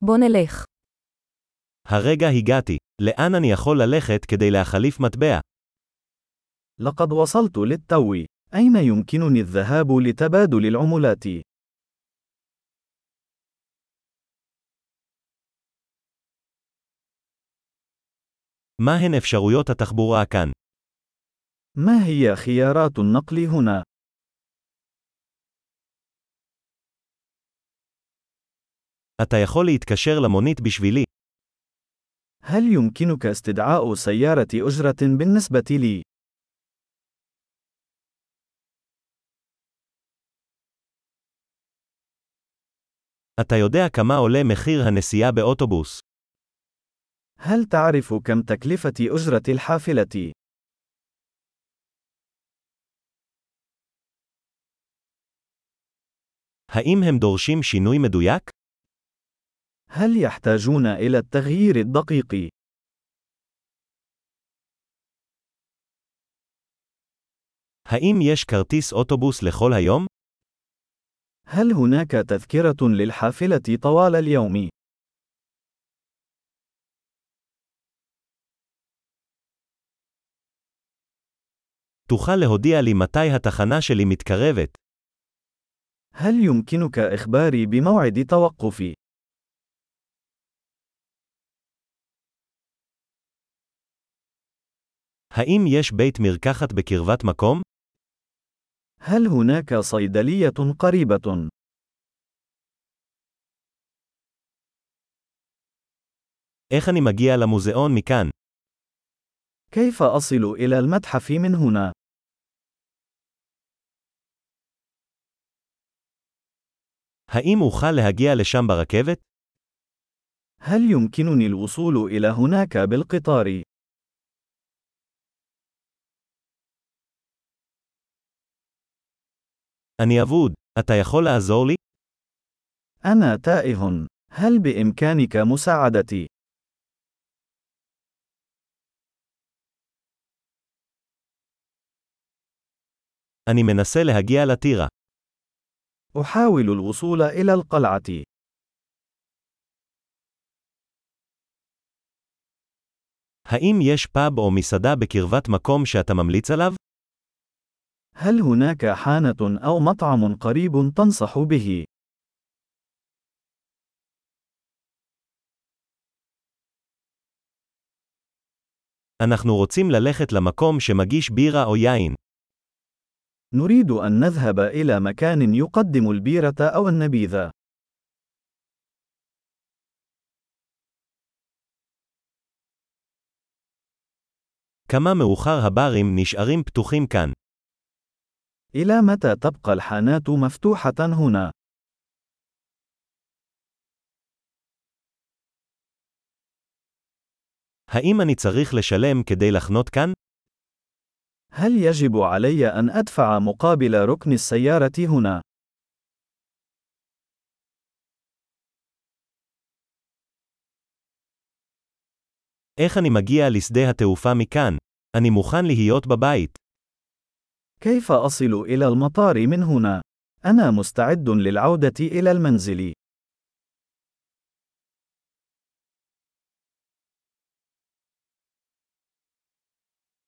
בוא נלך. הרגע הגעתי. לאן אני יכול ללכת כדי להחליף מטבע? لقد وصلت للتو. أين يمكنني الذهاب لتبادل العملات؟ מה הן אפשרויות התחבורה כאן? ما هي خيارات النقل هنا؟ אתה יכול להתקשר למונית בשבילי. هل يمكنك استدعاء سيارة أجرة بالنسبة لي؟ אתה יודע כמה עולה מחיר הנסיעה באוטובוס? هل تعرف كم تكلفة أجرة الحافلة؟ האם הם דורשים שינוי מדויק? هل يحتاجون إلى التغيير الدقيق؟ האם יש כרטיס אוטובוס לכל היום? هل هناك تذكرة للحافلة طوال اليوم؟ תוכל להודיע לי מתי התחנה שלי מתקרבת? هل يمكنك إخباري بموعد توقفي؟ האם יש בית מרקחת בקרבת מקום? هل هناك صيدلية قريبة؟ איך אני מגיע למוזיאון מכאן? كيف أصل إلى المتحف من هنا؟ האם אוכל להגיע לשם ברכבת? هل يمكنني الوصول إلى هناك بالقطار؟ אני אבוד. אתה יכול לעזור לי? أنا تائه. هل بإمكانك مساعدتي؟ אני מנסה להגיע לטירה. أحاول الوصول إلى القلعة. האם יש פאב או מסעדה בקרבת מקום שאתה ממליץ עליו? هل هناك حانة أو مطعم قريب تنصح به؟ אנחנו רוצים ללכת למקום שמגיש בירה או יין. نريد أن نذهب إلى مكان يقدم البيرة أو النبيذ. כמה מאוחר הברים נשארים פתוחים כאן? إلى متى تبقى الحانات مفتوحة هنا؟ האם אני צריך לשלם כדי לחנות כאן? هل يجب علي أن أدفع مقابل ركن السيارة هنا؟ איך אני מגיע לשדה התעופה מכאן? אני מוכן להיות בבית. كيف أصل إلى المطار من هنا؟ أنا مستعد للعودة إلى المنزل.